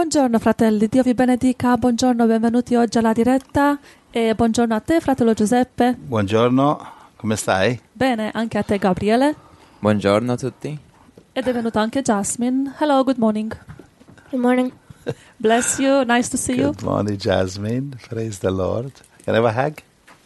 Buongiorno fratelli, Dio vi benedica, buongiorno, benvenuti oggi alla diretta e buongiorno a te fratello Giuseppe. Buongiorno, come stai? Bene, anche a te Gabriele. Buongiorno a tutti. Ed è venuta anche Jasmine. Hello, good morning. Good morning. Bless you, nice to see you. Good morning, Jasmine. Praise the Lord. Can I have a hug?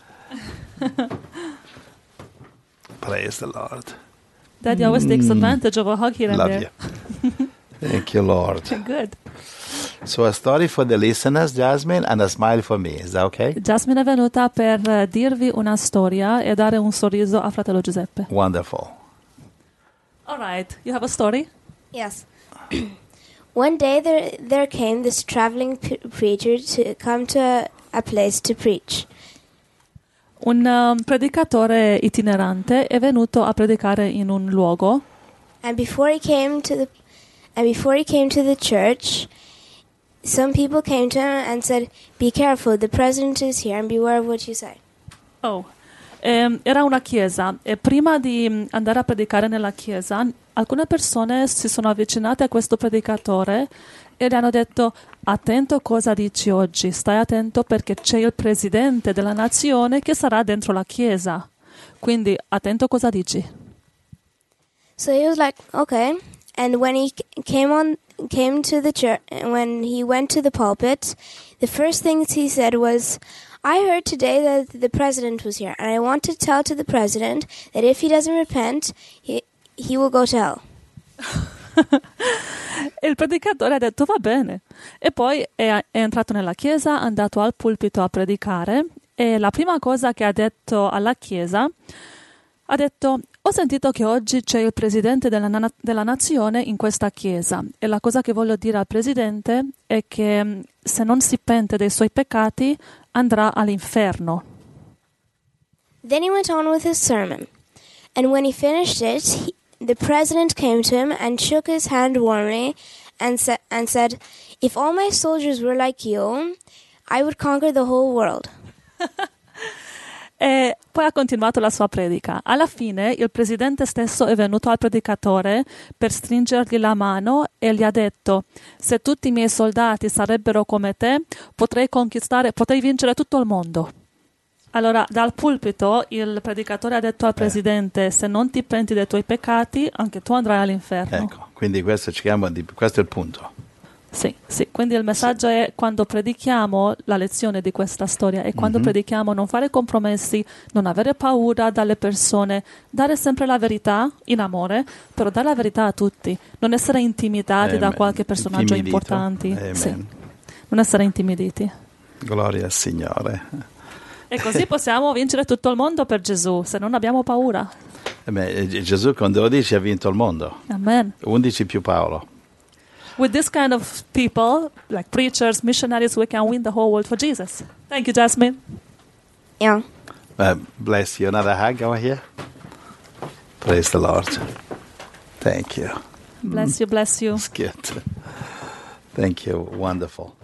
Praise the Lord. Daddy always takes advantage of a hug here and Love there. you. Thank you, Lord. Good. So a story for the listeners, Jasmine, and a smile for me. Is that okay? Jasmine è venuta per dirvi una storia e dare un sorriso a fratello Giuseppe. Wonderful. All right, you have a story? Yes. One day there came this traveling preacher to come to a place to preach. Un predicatore itinerante è venuto a predicare in un luogo. And before he came to the church, some people came to him and said, "Be careful, the president is here, and beware of what you say." Oh, era una chiesa e prima di andare a predicare nella chiesa, alcune persone si sono avvicinate a questo predicatore e gli hanno detto: attento cosa dici oggi, stai attento perché c'è il presidente della nazione che sarà dentro la chiesa, quindi attento cosa dici. So he was like, "Okay." And when he came to the church, when he went to the pulpit, the first thing he said was, "I heard today that the president was here, and I want to tell to the president that if he doesn't repent, he will go to hell." E il predicatore ha detto va bene. E poi è entrato nella chiesa, è andato al pulpito a predicare e la prima cosa che ha detto alla chiesa ha detto: ho sentito che oggi c'è il presidente della nazione in questa chiesa e la cosa che voglio dire al presidente è che se non si pente dei suoi peccati andrà all'inferno. Then he went on with his sermon, and when he finished it, the president came to him and shook his hand warmly and said, "If all my soldiers were like you, I would conquer the whole world." E poi ha continuato la sua predica. Alla fine il presidente stesso è venuto al predicatore per stringergli la mano e gli ha detto: se tutti i miei soldati sarebbero come te, potrei vincere tutto il mondo. Allora, dal pulpito il predicatore ha detto al presidente: se non ti penti dei tuoi peccati, anche tu andrai all'inferno. Ecco, quindi questo è il punto. Sì, quindi il messaggio è: quando predichiamo la lezione di questa storia e quando predichiamo non fare compromessi, non avere paura dalle persone, dare sempre la verità in amore, però dare la verità a tutti, non essere intimidati da qualche personaggio importante. Sì. Non essere intimiditi. Gloria al Signore. E così possiamo vincere tutto il mondo per Gesù, se non abbiamo paura. Gesù con 12 ha vinto il mondo. Amen. 11 più Paolo. With this kind of people, like preachers, missionaries, we can win the whole world for Jesus. Thank you, Jasmine. Yeah. Bless you. Another hug over here. Praise the Lord. Thank you. Bless you, bless you. It's good. Thank you. Wonderful.